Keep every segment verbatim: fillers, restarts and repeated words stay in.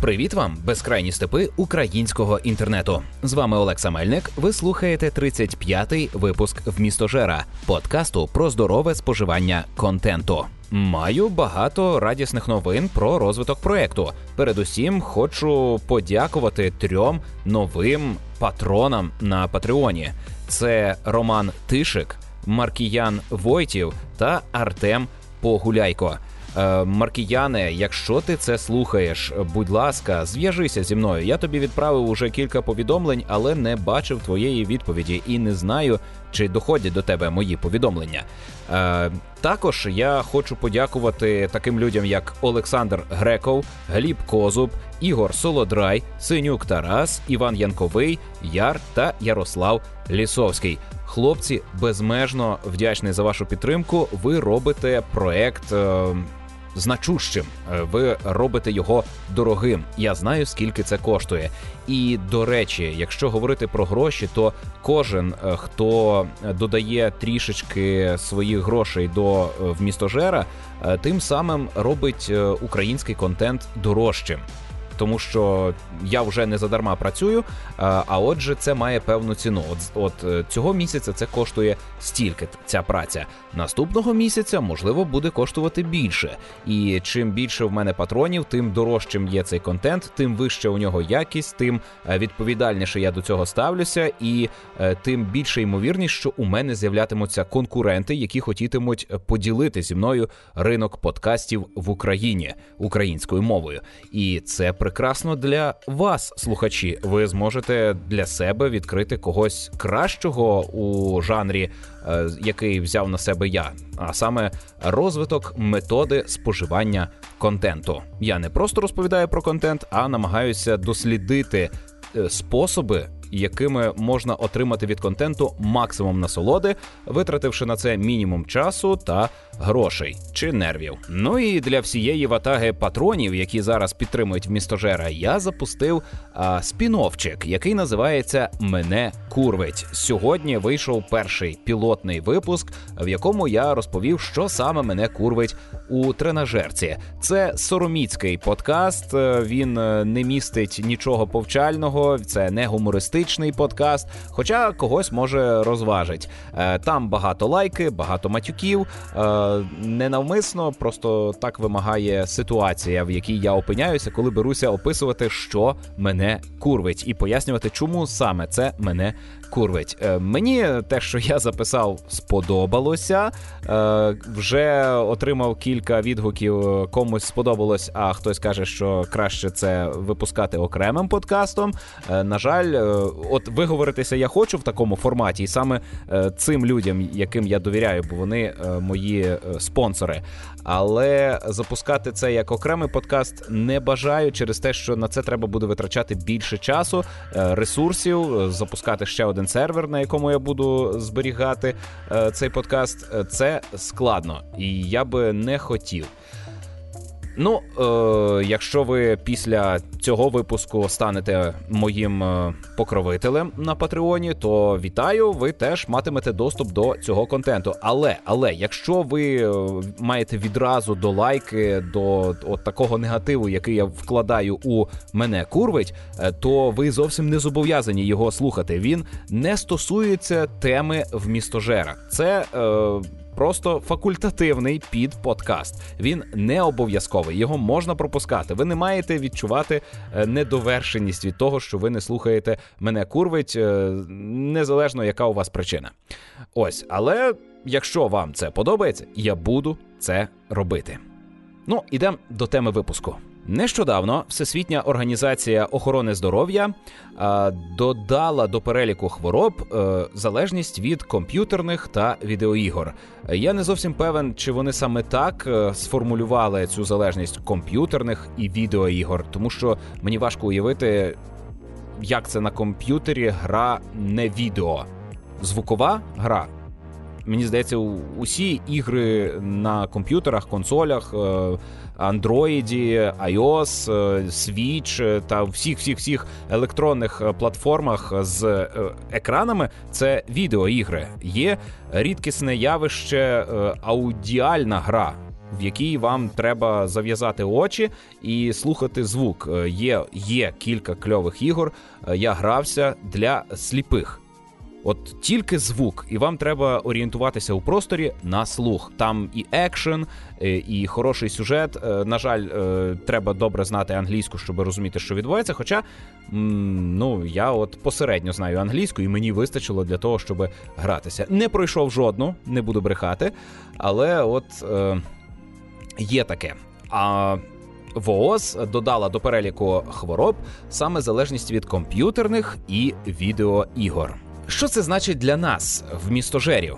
Привіт вам, безкрайні степи українського інтернету. З вами Олекса Мельник, ви слухаєте тридцять п'ятий випуск «Вмістожера» – подкасту про здорове споживання контенту. Маю багато радісних новин про розвиток проєкту. Передусім, хочу подякувати трьом новим патронам на Патреоні. Це Роман Тишик, Маркіян Войтів та Артем Погуляйко. Маркіяне, якщо ти це слухаєш, будь ласка, зв'яжися зі мною. Я тобі відправив уже кілька повідомлень, але не бачив твоєї відповіді і не знаю, чи доходять до тебе мої повідомлення. Е, також я хочу подякувати таким людям, як Олександр Греков, Гліб Козуб, Ігор Солодрай, Синюк Тарас, Іван Янковий, Яр та Ярослав Лісовський. Хлопці, безмежно вдячний за вашу підтримку. Ви робите проект е, значущим, ви робите його дорогим. Я знаю, скільки це коштує. І, до речі, якщо говорити про гроші, то кожен, хто додає трішечки своїх грошей до «Вмістожера», тим самим робить український контент дорожчим. Тому що я вже не задарма працюю, а отже це має певну ціну. От, от цього місяця це коштує стільки, ця праця. Наступного місяця, можливо, буде коштувати більше. І чим більше в мене патронів, тим дорожчим є цей контент, тим вища у нього якість, тим відповідальніше я до цього ставлюся, і тим більше ймовірність, що у мене з'являтимуться конкуренти, які хотітимуть поділити зі мною ринок подкастів в Україні українською мовою. І це прекрасно для вас, слухачі. Ви зможете для себе відкрити когось кращого у жанрі, е, який взяв на себе я, а саме розвиток методи споживання контенту. Я не просто розповідаю про контент, а намагаюся дослідити е, способи, якими можна отримати від контенту максимум насолоди, витративши на це мінімум часу та грошей чи нервів. Ну і для всієї ватаги патронів, які зараз підтримують «Вмістожера», я запустив а, спін-оффчик, який називається «Мене курвить». Сьогодні вийшов перший пілотний випуск, в якому я розповів, що саме мене курвить у тренажерці. Це сороміцький подкаст, він не містить нічого повчального, це не гумористичний подкаст, хоча когось може розважить. Там багато лайки, багато матюків, ненавмисно, просто так вимагає ситуація, в якій я опиняюся, коли беруся описувати, що мене курвить, і пояснювати, чому саме це мене курвить. Мені те, що я записав, сподобалося. Вже отримав кілька відгуків, комусь сподобалось, а хтось каже, що краще це випускати окремим подкастом. На жаль, от виговоритися я хочу в такому форматі, і саме цим людям, яким я довіряю, бо вони мої спонсори. Але запускати це як окремий подкаст не бажаю через те, що на це треба буде витрачати більше часу, ресурсів, запускати ще один сервер, на якому я буду зберігати цей подкаст. Це складно, і я би не хотів. Ну, е, якщо ви після цього випуску станете моїм е, покровителем на Патреоні, то вітаю, ви теж матимете доступ до цього контенту. Але, але, якщо ви е, маєте відразу до лайки, до от такого негативу, який я вкладаю у «Мене курвить», е, то ви зовсім не зобов'язані його слухати. Він не стосується теми «Вмістожера». Це... Е, Просто факультативний підподкаст. Він не обов'язковий, його можна пропускати. Ви не маєте відчувати недовершеність від того, що ви не слухаєте «Мене курвить», незалежно яка у вас причина. Ось, але якщо вам це подобається, я буду це робити. Ну, ідемо до теми випуску. Нещодавно Всесвітня організація охорони здоров'я а, додала до переліку хвороб а, залежність від комп'ютерних та відеоігор. Я не зовсім певен, чи вони саме так а, сформулювали цю залежність комп'ютерних і відеоігор, тому що мені важко уявити, як це на комп'ютері гра не відео. Звукова гра. Мені здається, усі ігри на комп'ютерах, консолях, Android, iOS, Switch та всіх-всіх-всіх електронних платформах з екранами – це відеоігри. Є рідкісне явище аудіальна гра. в якій вам треба зав'язати очі і слухати звук. Є, є кілька кльових ігор, я грався для сліпих. От тільки звук, і вам треба орієнтуватися у просторі на слух. Там і екшен, і хороший сюжет. На жаль, треба добре знати англійську, щоб розуміти, що відбувається. Хоча, ну, я от посередньо знаю англійську, і мені вистачило для того, щоб гратися. Не пройшов жодну, не буду брехати, але от е, є таке. А ВООЗ додала до переліку хвороб саме залежність від комп'ютерних і відеоігор. Що це значить для нас, вмістожерів?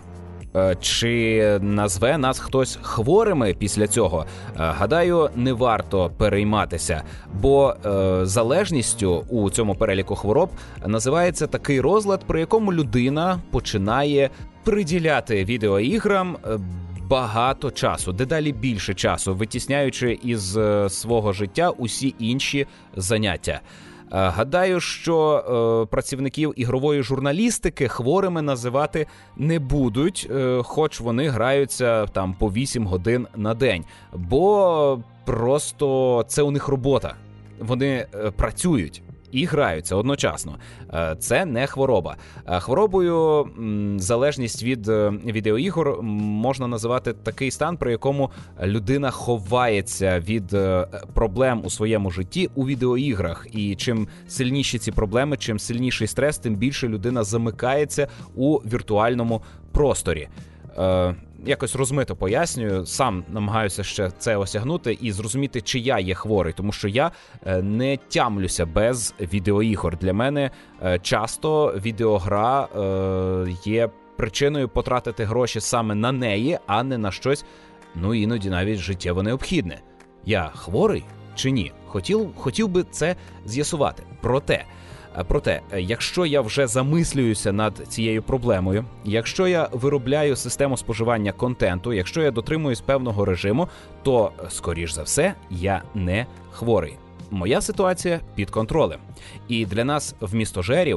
Чи назве нас хтось хворими після цього? Гадаю, не варто перейматися, бо е, залежністю у цьому переліку хвороб називається такий розлад, при якому людина починає приділяти відеоіграм багато часу, дедалі більше часу, витісняючи із свого життя усі інші заняття. Гадаю, що е, працівників ігрової журналістики хворими називати не будуть, е, хоч вони граються там по вісім годин на день, бо просто це у них робота. Вони е, працюють і граються одночасно. Це не хвороба. Хворобою м, залежність від е, відеоігор можна називати такий стан, при якому людина ховається від е, проблем у своєму житті у відеоіграх. І чим сильніші ці проблеми, чим сильніший стрес, тим більше людина замикається у віртуальному просторі. Е, Якось розмито пояснюю, сам намагаюся ще це осягнути і зрозуміти, чи я є хворий, тому що я не тямлюся без відеоігор. Для мене часто відеогра є причиною потратити гроші саме на неї, а не на щось, ну іноді навіть життєво необхідне. Я хворий чи ні? Хотів, хотів би це з'ясувати. Проте, Проте, якщо я вже замислююся над цією проблемою, якщо я виробляю систему споживання контенту, якщо я дотримуюсь певного режиму, то, скоріш за все, я не хворий. Моя ситуація під контролем. І для нас, вмістожерів,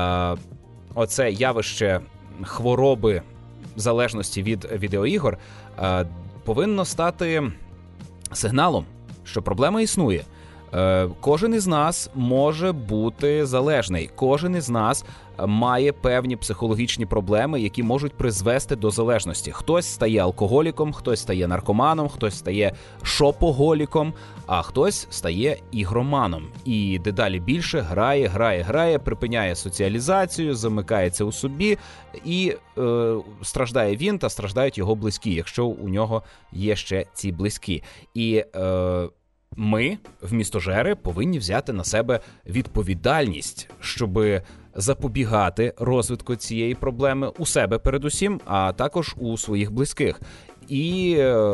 оце явище хвороби залежності від відеоігор повинно стати сигналом, що проблема існує. Кожен із нас може бути залежний. Кожен із нас має певні психологічні проблеми, які можуть призвести до залежності. Хтось стає алкоголіком, хтось стає наркоманом, хтось стає шопоголіком, а хтось стає ігроманом. І дедалі більше грає, грає, грає, припиняє соціалізацію, замикається у собі, і е, страждає він та страждають його близькі, якщо у нього є ще ці близькі. І е, ми, вмістожери, повинні взяти на себе відповідальність, щоб запобігати розвитку цієї проблеми у себе передусім, а також у своїх близьких. І,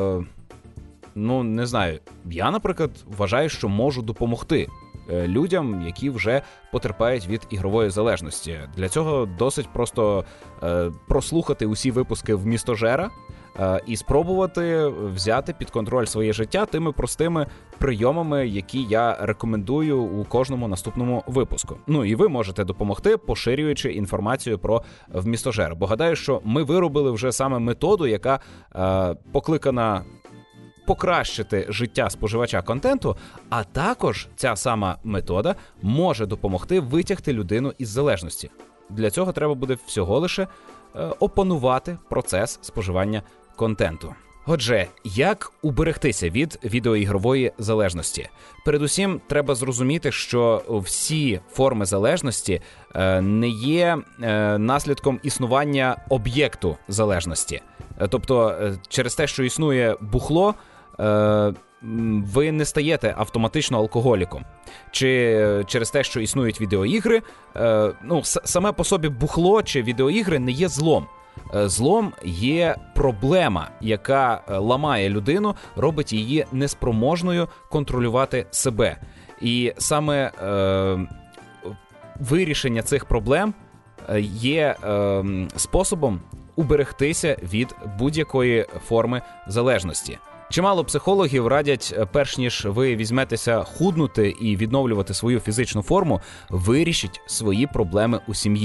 ну, не знаю, я, наприклад, вважаю, що можу допомогти людям, які вже потерпають від ігрової залежності. Для цього досить просто е, прослухати усі випуски «Вмістожера», і спробувати взяти під контроль своє життя тими простими прийомами, які я рекомендую у кожному наступному випуску. Ну і ви можете допомогти, поширюючи інформацію про вмістожер. Бо гадаю, що ми виробили вже саме методу, яка е, покликана покращити життя споживача контенту, а також ця сама метода може допомогти витягти людину із залежності. Для цього треба буде всього лише е, опанувати процес споживання контенту. Отже, як уберегтися від відеоігрової залежності? Передусім, треба зрозуміти, що всі форми залежності е, не є е, наслідком існування об'єкту залежності. Е, тобто, е, через те, що існує бухло, е, ви не стаєте автоматично алкоголіком. Чи через те, що існують відеоігри, е, ну, с- саме по собі бухло чи відеоігри не є злом. Злом є проблема, яка ламає людину, робить її неспроможною контролювати себе. І саме е, вирішення цих проблем є е, способом уберегтися від будь-якої форми залежності. Чимало психологів радять, перш ніж ви візьметеся худнути і відновлювати свою фізичну форму, вирішіть свої проблеми у сім'ї.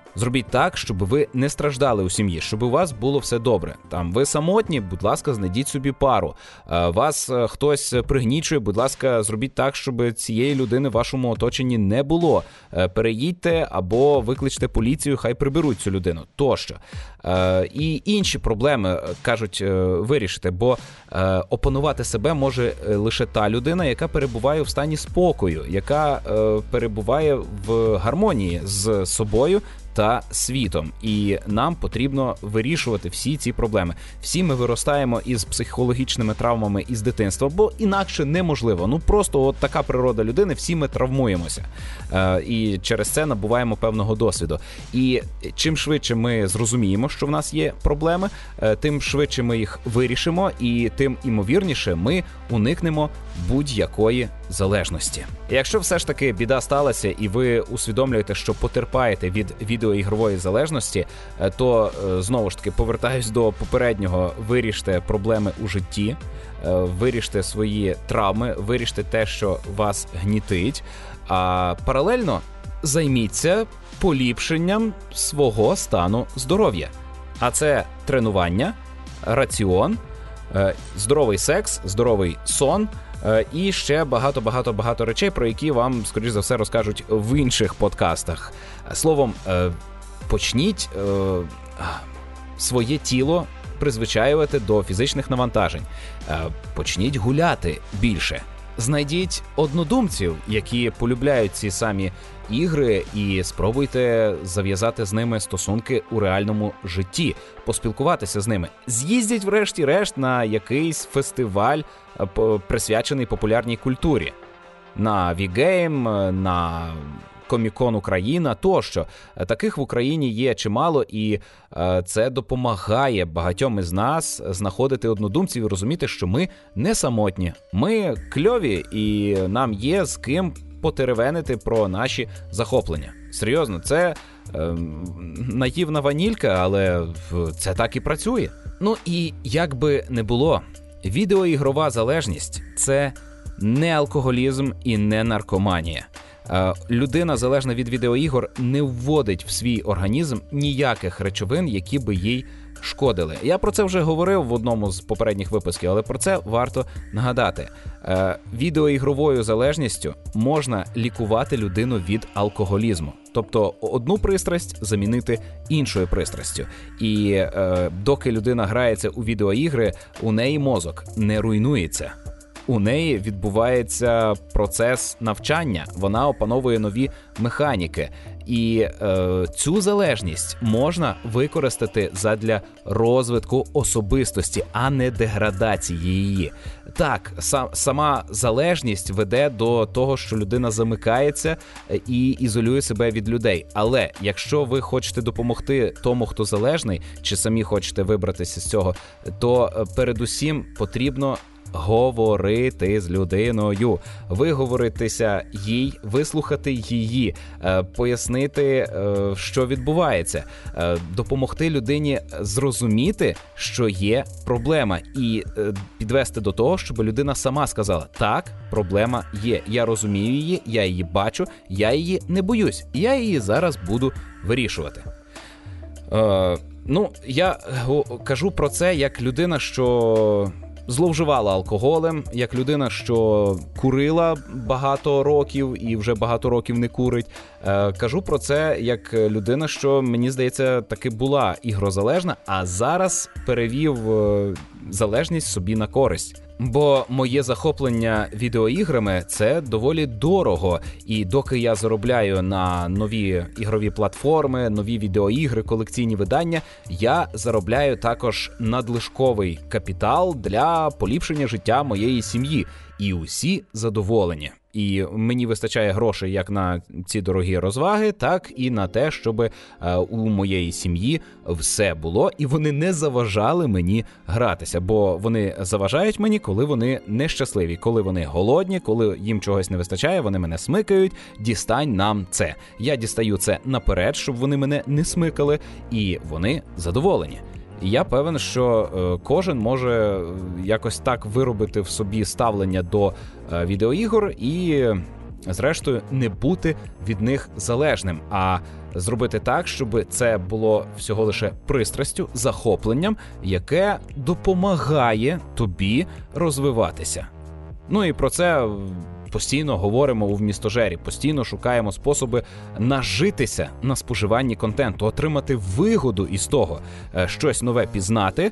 Зробіть так, щоб ви не страждали у сім'ї, щоб у вас було все добре. Там ви самотні, будь ласка, знайдіть собі пару. Вас хтось пригнічує, будь ласка, зробіть так, щоб цієї людини в вашому оточенні не було. Переїдьте або викличте поліцію, хай приберуть цю людину. Тощо. І інші проблеми, кажуть, вирішити, бо опанувати себе може лише та людина, яка перебуває в стані спокою, яка перебуває в гармонії з собою та світом. І нам потрібно вирішувати всі ці проблеми. Всі ми виростаємо із психологічними травмами із дитинства, бо інакше неможливо. Ну просто от така природа людини, всі ми травмуємося. Е, і через це набуваємо певного досвіду. І чим швидше ми зрозуміємо, що в нас є проблеми, е, тим швидше ми їх вирішимо, і тим імовірніше ми уникнемо будь-якої залежності. Якщо все ж таки біда сталася і ви усвідомлюєте, що потерпаєте від відеоігрової залежності, то знову ж таки повертаюсь до попереднього: виріште проблеми у житті, виріште свої травми, виріште те, що вас гнітить, а паралельно займіться поліпшенням свого стану здоров'я. А це тренування, раціон, здоровий секс, здоровий сон, і ще багато-багато-багато речей, про які вам, скоріш за все, розкажуть в інших подкастах. Словом, почніть своє тіло призвичаювати до фізичних навантажень. Почніть гуляти більше. Знайдіть однодумців, які полюбляють ці самі ігри, і спробуйте зав'язати з ними стосунки у реальному житті, поспілкуватися з ними. З'їздіть врешті-решт на якийсь фестиваль, присвячений популярній культурі. На Вігейм, на Комік-кон Україна тощо. Таких в Україні є чимало, і це допомагає багатьом із нас знаходити однодумців і розуміти, що ми не самотні. Ми кльові, і нам є з ким потеревенити про наші захоплення. Серйозно, це е, наївна ванілька, але це так і працює. Ну і як би не було, відеоігрова залежність – це не алкоголізм і не наркоманія. Людина, залежна від відеоігор, не вводить в свій організм ніяких речовин, які би їй шкодили. Я про це вже говорив в одному з попередніх випусків, але про це варто нагадати. Відеоігровою залежністю можна лікувати людину від алкоголізму. Тобто одну пристрасть замінити іншою пристрастю. І е, доки людина грається у відеоігри, у неї мозок не руйнується. У неї відбувається процес навчання, вона опановує нові механіки. І е, цю залежність можна використати задля розвитку особистості, а не деградації її. Так, сам, сама залежність веде до того, що людина замикається і ізолює себе від людей. Але якщо ви хочете допомогти тому, хто залежний, чи самі хочете вибратися з цього, то передусім потрібно говорити з людиною, виговоритися їй, вислухати її, пояснити, що відбувається, допомогти людині зрозуміти, що є проблема, і підвести до того, щоб людина сама сказала: так, проблема є, я розумію її, я її бачу, я її не боюсь, я її зараз буду вирішувати. Ну, я кажу про це як людина, що зловживала алкоголем, як людина, що курила багато років і вже багато років не курить. Е, кажу про це як людина, що, мені здається, таки була ігрозалежна, а зараз перевів е, залежність собі на користь. Бо моє захоплення відеоіграми – це доволі дорого. І доки я заробляю на нові ігрові платформи, нові відеоігри, колекційні видання, я заробляю також надлишковий капітал для поліпшення життя моєї сім'ї. І усі задоволені. І мені вистачає грошей як на ці дорогі розваги, так і на те, щоб е, у моєї сім'ї все було, і вони не заважали мені гратися. Бо вони заважають мені, коли вони нещасливі, коли вони голодні, коли їм чогось не вистачає, вони мене смикають: дістань нам це. Я дістаю це наперед, щоб вони мене не смикали, і вони задоволені. І я певен, що е, кожен може якось так виробити в собі ставлення до е, відеоігор і зрештою, не бути від них залежним, а зробити так, щоб це було всього лише пристрастю, захопленням, яке допомагає тобі розвиватися. Ну і про це постійно говоримо у «Вмістожері», постійно шукаємо способи нажитися на споживанні контенту, отримати вигоду із того, щось нове пізнати,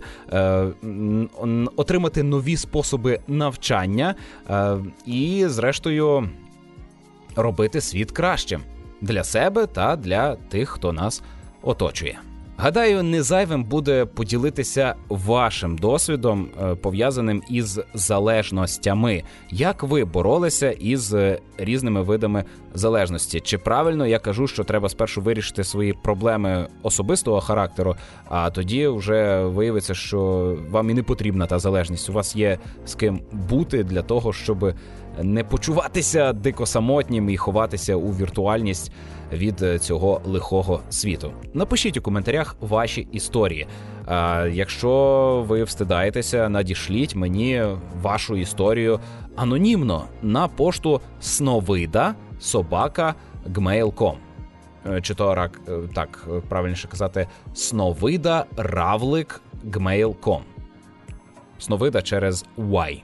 отримати нові способи навчання і, зрештою, робити світ кращим для себе та для тих, хто нас оточує. Гадаю, не зайвим буде поділитися вашим досвідом, пов'язаним із залежностями. Як ви боролися із різними видами залежності? Чи правильно я кажу, що треба спершу вирішити свої проблеми особистого характеру, а тоді вже виявиться, що вам і не потрібна та залежність. У вас є з ким бути для того, щоб не почуватися дико самотнім і ховатися у віртуальність від цього лихого світу. Напишіть у коментарях ваші історії. А якщо ви встидаєтеся, надішліть мені вашу історію анонімно на пошту сновида собака гмейл крапка ком. Чи то так правильніше казати сновида равлик гмейл крапка ком. Сновида через Y.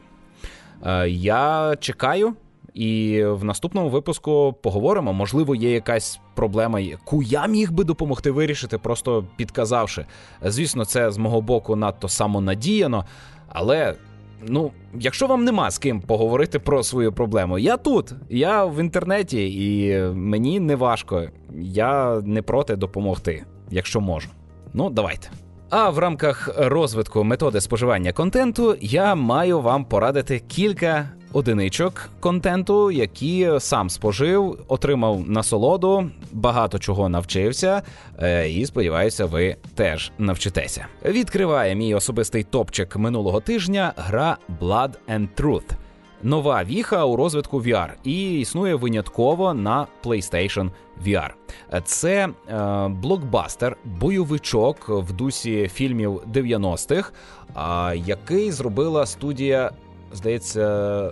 Я чекаю, і в наступному випуску поговоримо. Можливо, є якась проблема, яку я міг би допомогти вирішити, просто підказавши. Звісно, це з мого боку надто самонадіяно, але, ну, якщо вам нема з ким поговорити про свою проблему, я тут, я в інтернеті, і мені не важко, я не проти допомогти, якщо можу. Ну, давайте. А в рамках розвитку методи споживання контенту я маю вам порадити кілька одиничок контенту, які сам спожив, отримав насолоду, багато чого навчився, і, сподіваюся, ви теж навчитеся. Відкриває мій особистий топчик минулого тижня гра Blood and Truth. Нова віха у розвитку ві ар і існує винятково на PlayStation ві ар. Це е, блокбастер, бойовичок в дусі фільмів дев'яностих, е, який зробила студія, здається,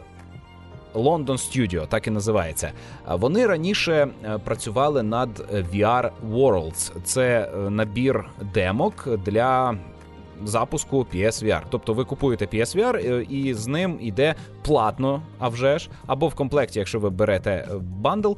London Studio, так і називається. Вони раніше працювали над ві ар Worlds. Це набір демок для запуску пі ес ві ар. Тобто ви купуєте пі ес ві ар і з ним йде платно, а вже ж, або в комплекті, якщо ви берете бандл,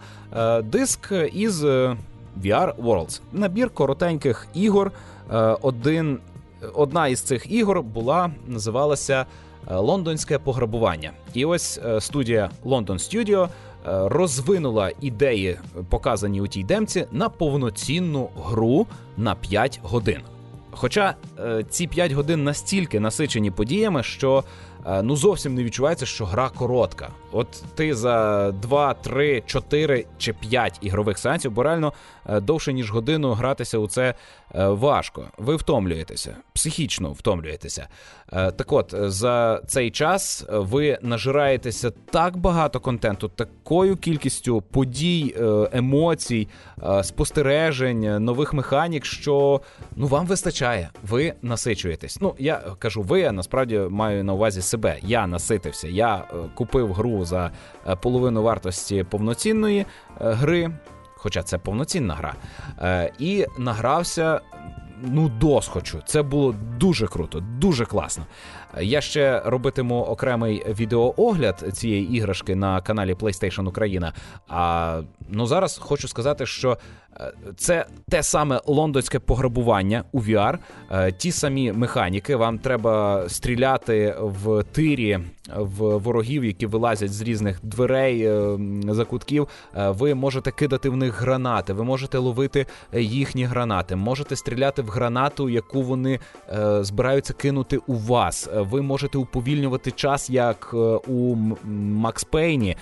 диск із ві ар Worlds. Набір коротеньких ігор. Один, одна із цих ігор була, називалася «Лондонське пограбування». І ось студія London Studio розвинула ідеї, показані у тій демці, на повноцінну гру на п'ять годин. Хоча е, ці п'ять годин настільки насичені подіями, що е, ну зовсім не відчувається, що гра коротка. От ти за два, три, чотири чи п'ять ігрових сеансів, бо реально е, довше, ніж годину гратися у це е, важко. Ви втомлюєтеся, психічно втомлюєтеся. Е, так от, за цей час ви нажираєтеся так багато контенту, такою кількістю подій, е, емоцій, е, спостережень, нових механік, що ну вам вистачає, ви насичуєтесь. Ну, я кажу ви, а насправді маю на увазі себе. Я наситився, я е, купив гру за е, половину вартості повноцінної е, гри, хоча це повноцінна гра, е, і награвся ну досхочу. Це було дуже круто, дуже класно. Я ще робитиму окремий відеоогляд цієї іграшки на каналі PlayStation Україна. А ну зараз хочу сказати, що це те саме лондонське пограбування у ві ар, ті самі механіки. Вам треба стріляти в тирі в ворогів, які вилазять з різних дверей, закутків. Ви можете кидати в них гранати, ви можете ловити їхні гранати, можете стріляти в гранату, яку вони збираються кинути у вас. Ви можете уповільнювати час, як у Макс Пейні,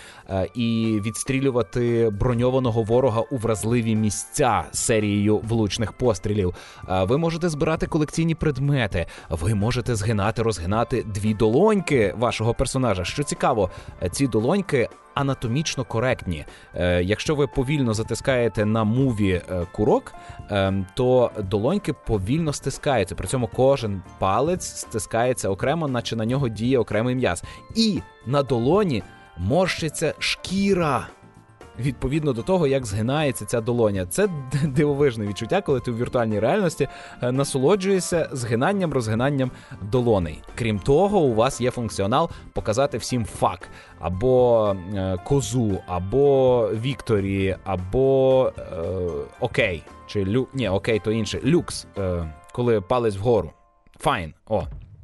і відстрілювати броньованого ворога у вразливі місця серією влучних пострілів. Ви можете збирати колекційні предмети. Ви можете згинати, розгинати дві долоньки вашого персонажа. Що цікаво, ці долоньки анатомічно коректні. Е, якщо ви повільно затискаєте на муві е, курок, е, то долоньки повільно стискаються. При цьому кожен палець стискається окремо, наче на нього діє окремий м'яз. І на долоні морщиться шкіра. відповідно до того, як згинається ця долоня. Це дивовижне відчуття, коли ти у віртуальній реальності насолоджуєшся згинанням, розгинанням долоней. Крім того, у вас є функціонал показати всім фак, або е, козу, або вікторі, або е, окей, чи лю... Ні, окей, то інше, люкс, е, коли палець вгору. Файн, о.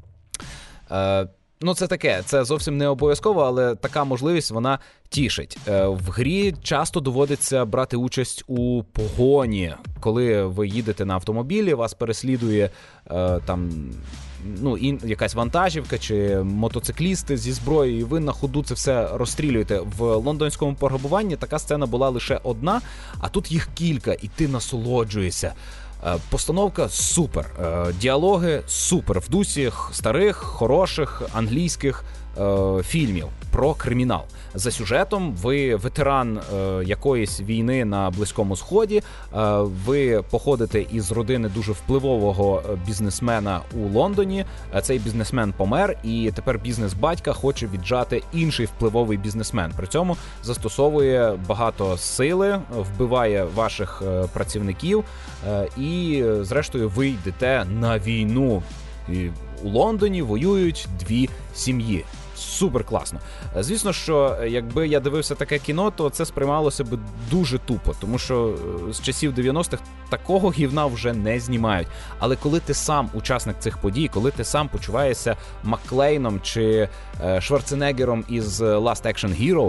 Е, Ну, це таке, це зовсім не обов'язково, але така можливість, вона тішить. В грі часто доводиться брати участь у погоні, коли ви їдете на автомобілі, вас переслідує там, ну, якась вантажівка чи мотоциклісти зі зброєю, і ви на ходу це все розстрілюєте. В лондонському пограбуванні така сцена була лише одна, а тут їх кілька, і ти насолоджуєшся. Постановка супер, діалоги супер, в дусі старих, хороших англійських е, фільмів про кримінал. За сюжетом ви ветеран е, якоїсь війни на Близькому Сході, е, ви походите із родини дуже впливового бізнесмена у Лондоні, цей бізнесмен помер, і тепер бізнес батька хоче віджати інший впливовий бізнесмен. При цьому застосовує багато сили, вбиває ваших е, працівників, е, і зрештою ви йдете на війну. І у Лондоні воюють дві сім'ї. Супер класно. Звісно, що якби я дивився таке кіно, то це сприймалося б дуже тупо, тому що з часів дев'яностих такого гівна вже не знімають. Але коли ти сам учасник цих подій, коли ти сам почуваєшся Макклейном чи Шварценеггером із Last Action Hero,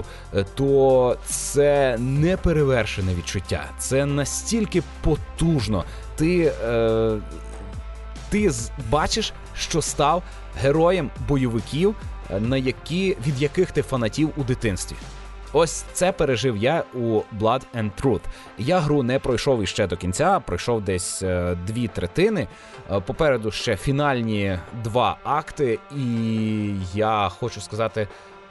то це неперевершене відчуття. Це настільки потужно. Ти... Е... Ти бачиш, що став героєм бойовиків, на які, від яких ти фанатів у дитинстві. Ось це пережив я у Blood and Truth. Я гру не пройшов іще до кінця, пройшов десь е, дві третини. Е, попереду ще фінальні два акти, і я хочу сказати,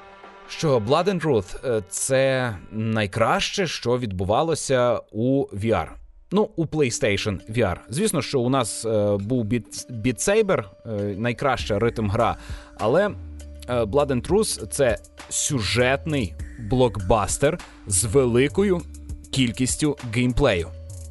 що Blood and Truth – це найкраще, що відбувалося у ві ар. Ну, у PlayStation ві ар. Звісно, що у нас е, був Beat Saber, е, найкраща ритм-гра, але е, Blood and Truth – це сюжетний блокбастер з великою кількістю геймплею.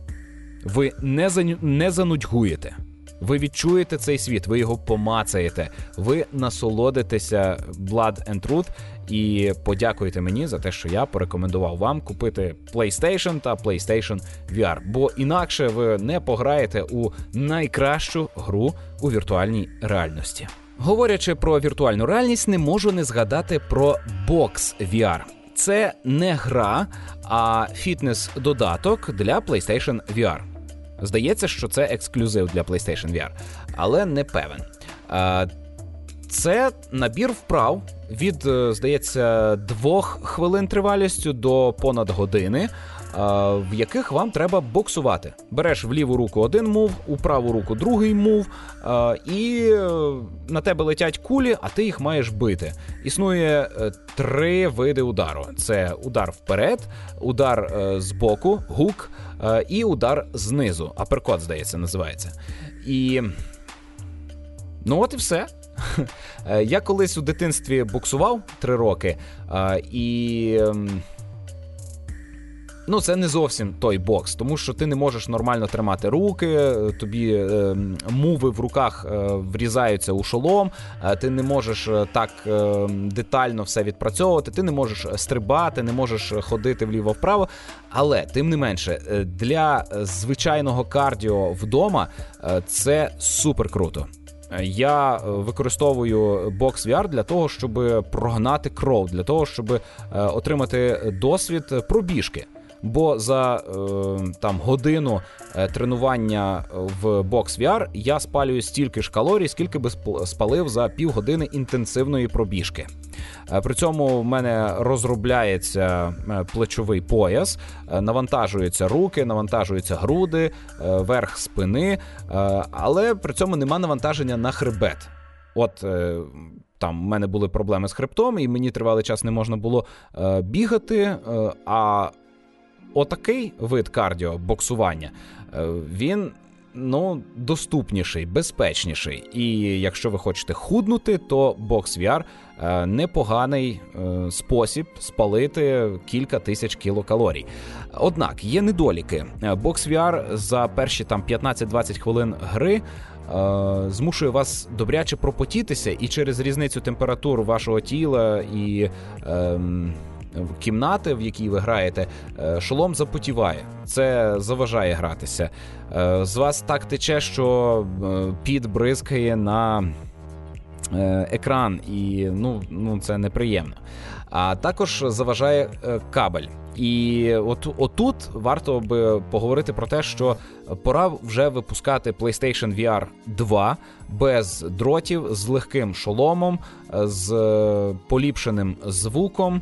Ви не, заню... не занудьгуєте. Ви відчуєте цей світ, ви його помацаєте, ви насолодитеся Blood and Truth і подякуйте мені за те, що я порекомендував вам купити PlayStation та PlayStation ві ар, бо інакше ви не пограєте у найкращу гру у віртуальній реальності. Говорячи про віртуальну реальність, не можу не згадати про Box ві ар. Це не гра, а фітнес-додаток для PlayStation ві ар. Здається, що це ексклюзив для PlayStation ві ар, але не певен. Це набір вправ від, здається, двох хвилин тривалістю до понад години, в яких вам треба боксувати. Береш в ліву руку один мув, у праву руку другий мув, і на тебе летять кулі, а ти їх маєш бити. Існує три види удару. Це удар вперед, удар збоку, гук, і удар знизу. Аперкот, здається, називається. І... ну от і все. Я колись у дитинстві боксував три роки, і... ну, це не зовсім той бокс, тому що ти не можеш нормально тримати руки, тобі е, муви в руках е, врізаються у шолом, е, ти не можеш так е, детально все відпрацьовувати, ти не можеш стрибати, не можеш ходити вліво-вправо, але, тим не менше, для звичайного кардіо вдома е, це супер круто. Я використовую Box ві ар для того, щоб прогнати кров, для того, щоб е, отримати досвід пробіжки. Бо за е, там, годину е, тренування в Box ві ар я спалюю стільки ж калорій, скільки би спалив за півгодини інтенсивної пробіжки. Е, при цьому в мене розробляється е, плечовий пояс, е, навантажуються руки, навантажуються груди, е, верх спини, е, але при цьому нема навантаження на хребет. От... Е, Там в мене були проблеми з хребтом, і мені тривалий час не можна було е, бігати, е, а отакий вид кардіо, боксування, е, він ну, доступніший, безпечніший. І якщо ви хочете худнути, то BoxVR е, непоганий е, спосіб спалити кілька тисяч кілокалорій. Однак є недоліки. BoxVR за перші там п'ятнадцять-двадцять хвилин гри е, змушує вас добряче пропотітися, і через різницю температур вашого тіла і е, кімнати, в якій ви граєте, шолом запотіває. Це заважає гратися. З вас так тече, що піт бризкає на екран, і ну, ну це неприємно. А також заважає кабель. І от, отут варто би поговорити про те, що пора вже випускати PlayStation ві ар два без дротів, з легким шоломом, з поліпшеним звуком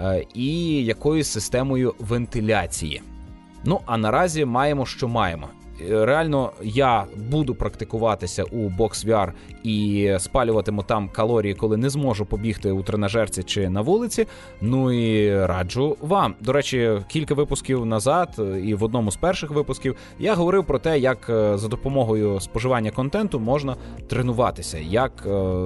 і якоюсь системою вентиляції. Ну, а наразі маємо, що маємо. Реально, я буду практикуватися у BoxVR і спалюватиму там калорії, коли не зможу побігти у тренажерці чи на вулиці. Ну і раджу вам. До речі, кілька випусків назад, і в одному з перших випусків, я говорив про те, як за допомогою споживання контенту можна тренуватися, як...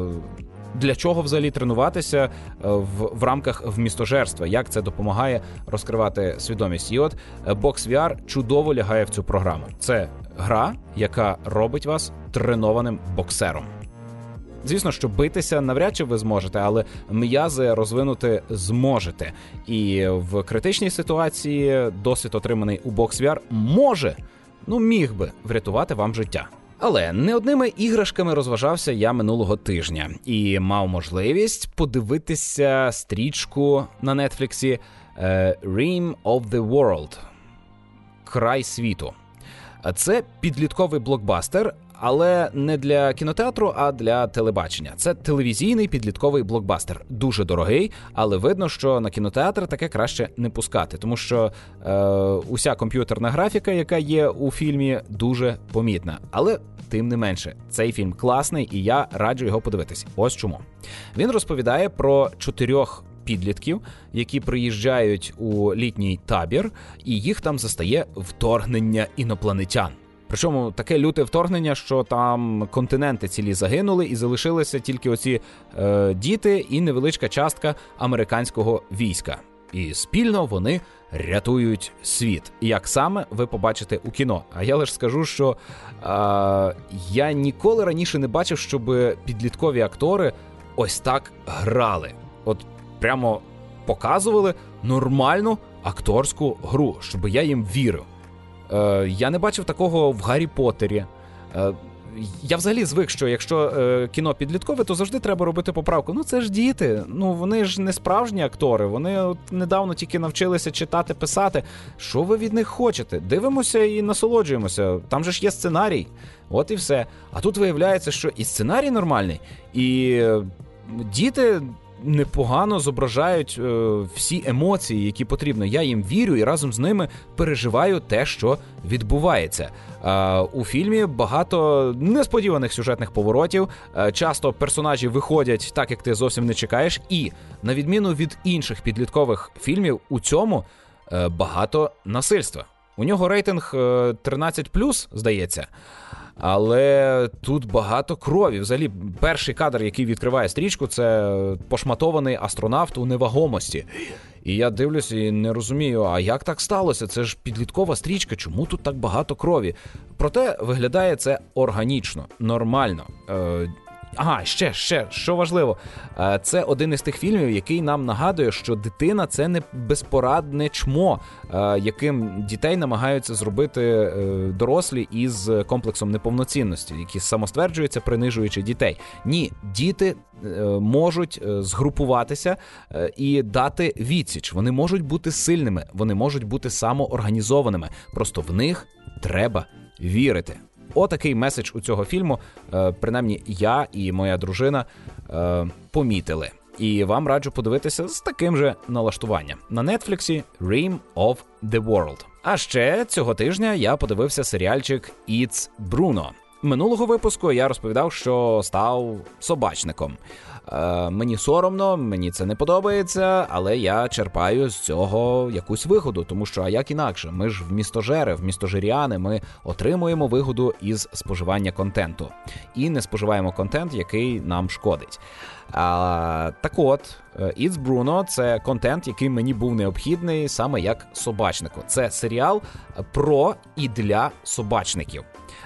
Для чого взагалі тренуватися в, в рамках вмістожерства, як це допомагає розкривати свідомість. І от BoxVR чудово лягає в цю програму. Це гра, яка робить вас тренованим боксером. Звісно, що битися навряд чи ви зможете, але м'язи розвинути зможете. І в критичній ситуації досвід, отриманий у BoxVR, може, ну міг би врятувати вам життя. Але не одними іграшками розважався я минулого тижня і мав можливість подивитися стрічку на Нетфліксі Rim of the World – Край світу. Це підлітковий блокбастер, але не для кінотеатру, а для телебачення. Це телевізійний підлітковий блокбастер. Дуже дорогий, але видно, що на кінотеатр таке краще не пускати, тому що е, уся комп'ютерна графіка, яка є у фільмі, дуже помітна. Але тим не менше, цей фільм класний, і я раджу його подивитись. Ось чому. Він розповідає про чотирьох підлітків, які приїжджають у літній табір, і їх там застає вторгнення інопланетян. Причому таке люте вторгнення, що там континенти цілі загинули і залишилися тільки оці е, діти і невеличка частка американського війська. І спільно вони рятують світ. Як саме, ви побачите у кіно. А я лише скажу, що е, я ніколи раніше не бачив, щоб підліткові актори ось так грали. От прямо показували нормальну акторську гру, щоб я їм вірив. Е, я не бачив такого в Гаррі Поттері. Е, я взагалі звик, що якщо е, кіно підліткове, то завжди треба робити поправку. Ну це ж діти, ну вони ж не справжні актори, вони от недавно тільки навчилися читати, писати. Що ви від них хочете? Дивимося і насолоджуємося, там же ж є сценарій, от і все. А тут виявляється, що і сценарій нормальний, і е, діти непогано зображають е, всі емоції, які потрібно. Я їм вірю і разом з ними переживаю те, що відбувається. Е, у фільмі багато несподіваних сюжетних поворотів, е, часто персонажі виходять так, як ти зовсім не чекаєш, і, на відміну від інших підліткових фільмів, у цьому е, багато насильства. У нього рейтинг е, тринадцять плюс, здається. Але тут багато крові. Взагалі, перший кадр, який відкриває стрічку, це пошматований астронавт у невагомості. І я дивлюся і не розумію, а як так сталося? Це ж підліткова стрічка, чому тут так багато крові? Проте виглядає це органічно, нормально. Е, Ага, ще, ще, що важливо, це один із тих фільмів, який нам нагадує, що дитина – це не безпорадне чмо, яким дітей намагаються зробити дорослі із комплексом неповноцінності, які самостверджуються, принижуючи дітей. Ні, діти можуть згрупуватися і дати відсіч. Вони можуть бути сильними, вони можуть бути самоорганізованими. Просто в них треба вірити. Отакий меседж у цього фільму, принаймні я і моя дружина помітили. І вам раджу подивитися з таким же налаштуванням. На Нетфліксі Rim of the World. А ще цього тижня я подивився серіальчик It's Bruno. Минулого випуску я розповідав, що став собачником. Е, мені соромно, мені це не подобається, але я черпаю з цього якусь вигоду, тому що, а як інакше, ми ж в містожери, в містожиряни, ми отримуємо вигоду із споживання контенту. І не споживаємо контент, який нам шкодить. А, так от, It's Bruno – це контент, який мені був необхідний саме як собачнику. Це серіал про і для собачників.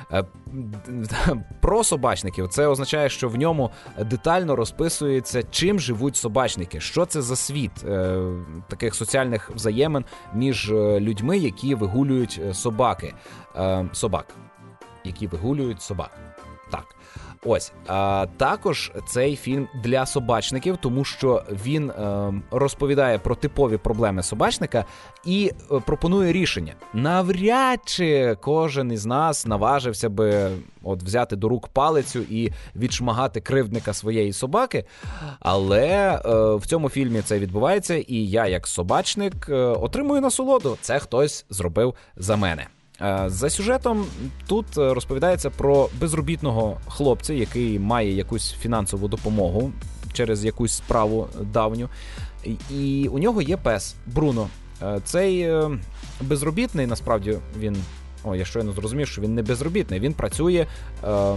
Про собачників. Це означає, що в ньому детально розписується, чим живуть собачники, що це за світ е, таких соціальних взаємин між людьми, які вигулюють собаки. Е, собак. Які вигулюють собак. Так. Ось. А також цей фільм для собачників, тому що він е, розповідає про типові проблеми собачника і е, пропонує рішення. Навряд чи кожен із нас наважився би от взяти до рук палицю і відшмагати кривдника своєї собаки, але е, в цьому фільмі це відбувається, і я, як собачник, е, отримую насолоду. Це хтось зробив за мене. За сюжетом тут розповідається про безробітного хлопця, який має якусь фінансову допомогу через якусь справу давню. І у нього є пес Бруно. Цей безробітний, насправді, він... О, я щойно зрозумів, що він не безробітний. Він працює е...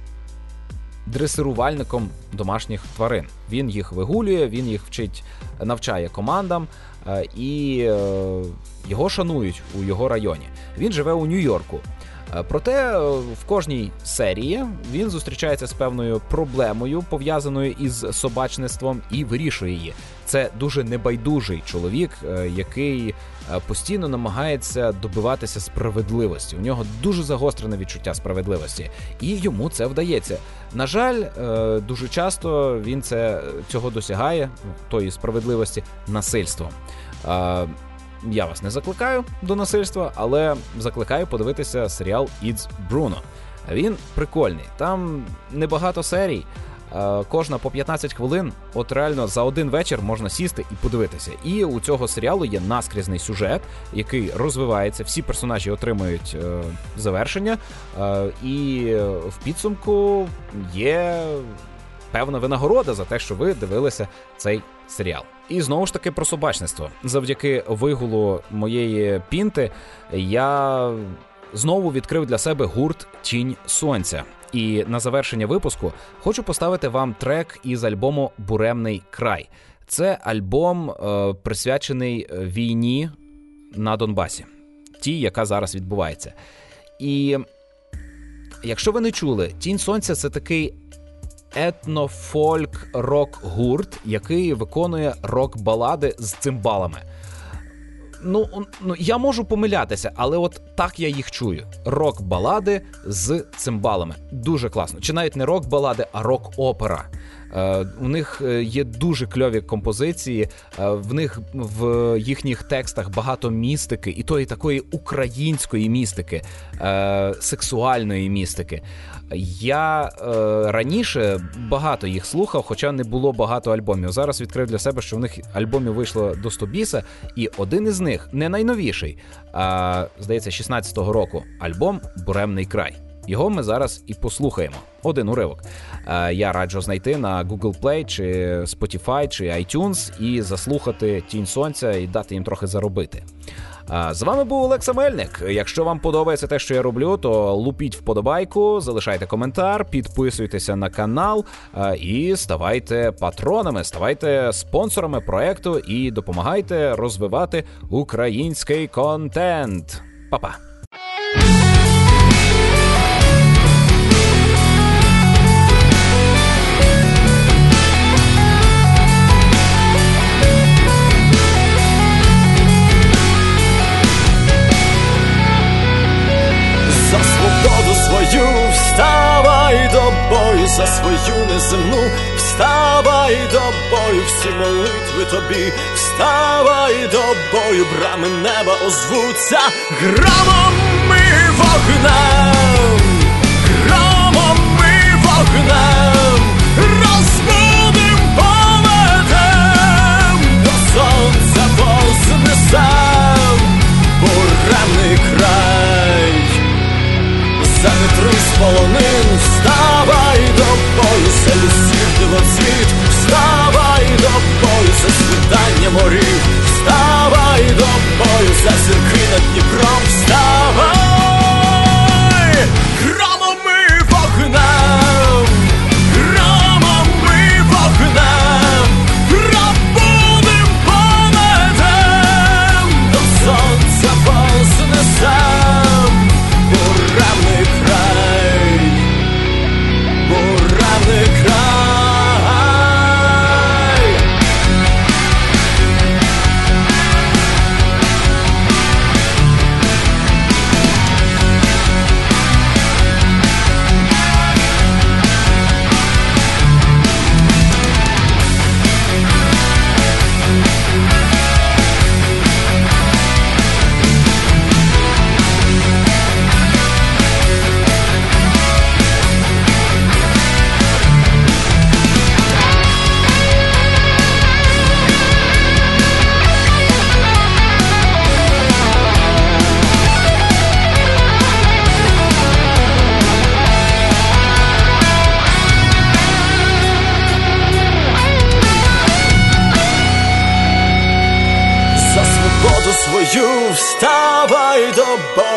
дресирувальником домашніх тварин. Він їх вигулює, він їх вчить, навчає командам, е... і е... його шанують у його районі. Він живе у Нью-Йорку. Проте в кожній серії він зустрічається з певною проблемою, пов'язаною із собачництвом, і вирішує її. Це дуже небайдужий чоловік, який постійно намагається добиватися справедливості. У нього дуже загострене відчуття справедливості, і йому це вдається. На жаль, дуже часто він це, цього досягає, тої справедливості, насильством. Я вас не закликаю до насильства, але закликаю подивитися серіал It's Bruno. Він прикольний. Там небагато серій, кожна по п'ятнадцять хвилин. От реально за один вечір можна сісти і подивитися. І у цього серіалу є наскрізний сюжет, який розвивається, всі персонажі отримують е, завершення, е, і в підсумку є певна винагорода за те, що ви дивилися цей серіал. І знову ж таки про собачництво. Завдяки вигулу моєї пінти я знову відкрив для себе гурт «Тінь сонця». І на завершення випуску хочу поставити вам трек із альбому «Буремний край». Це альбом, е, присвячений війні на Донбасі, тій, яка зараз відбувається. І якщо ви не чули, «Тінь сонця» – це такий етнофольк-рок-гурт, який виконує рок-балади з цимбалами. Ну, ну, я можу помилятися, але от так я їх чую. Рок-балади з цимбалами. Дуже класно. Чи навіть не рок-балади, а рок-опера. Е, у них є дуже кльові композиції, е, в них в їхніх текстах багато містики, і тої такої української містики, е, сексуальної містики. Я е, раніше багато їх слухав, хоча не було багато альбомів. Зараз відкрив для себе, що в них альбомів вийшло до сто біса, і один із них, не найновіший, а, здається, шістнадцятого року, альбом «Буремний край». Його ми зараз і послухаємо. Один уривок. Я раджу знайти на Google Play, чи Spotify, чи iTunes і заслухати «Тінь сонця» і дати їм трохи заробити. З вами був Олекса Мельник. Якщо вам подобається те, що я роблю, то лупіть вподобайку, залишайте коментар, підписуйтеся на канал і ставайте патронами, ставайте спонсорами проекту і допомагайте розвивати український контент. Па-па! Свою вставай до бою, за свою неземну, вставай до бою, всі молитви тобі, вставай до бою, брами неба озвуться громом і вогнем, громом і вогнем, розбудим, поведем, до сонця вознесем, буремний край. За вітри сполони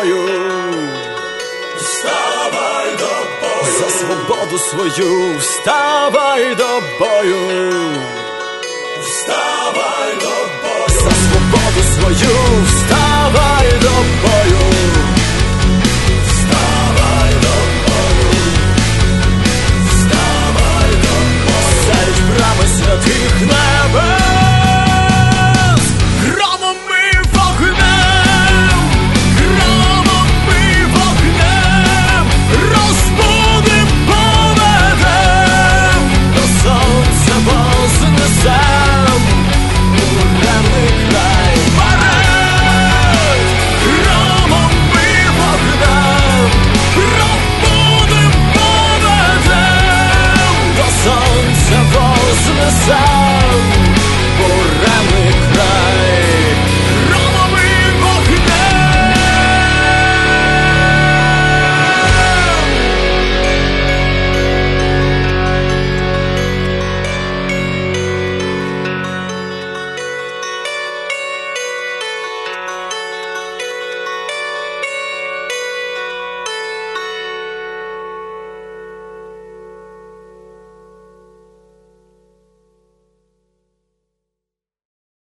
бою. Вставай до бою. За свободу свою вставай до бою. Вставай до бою. За свободу свою вставай до бою.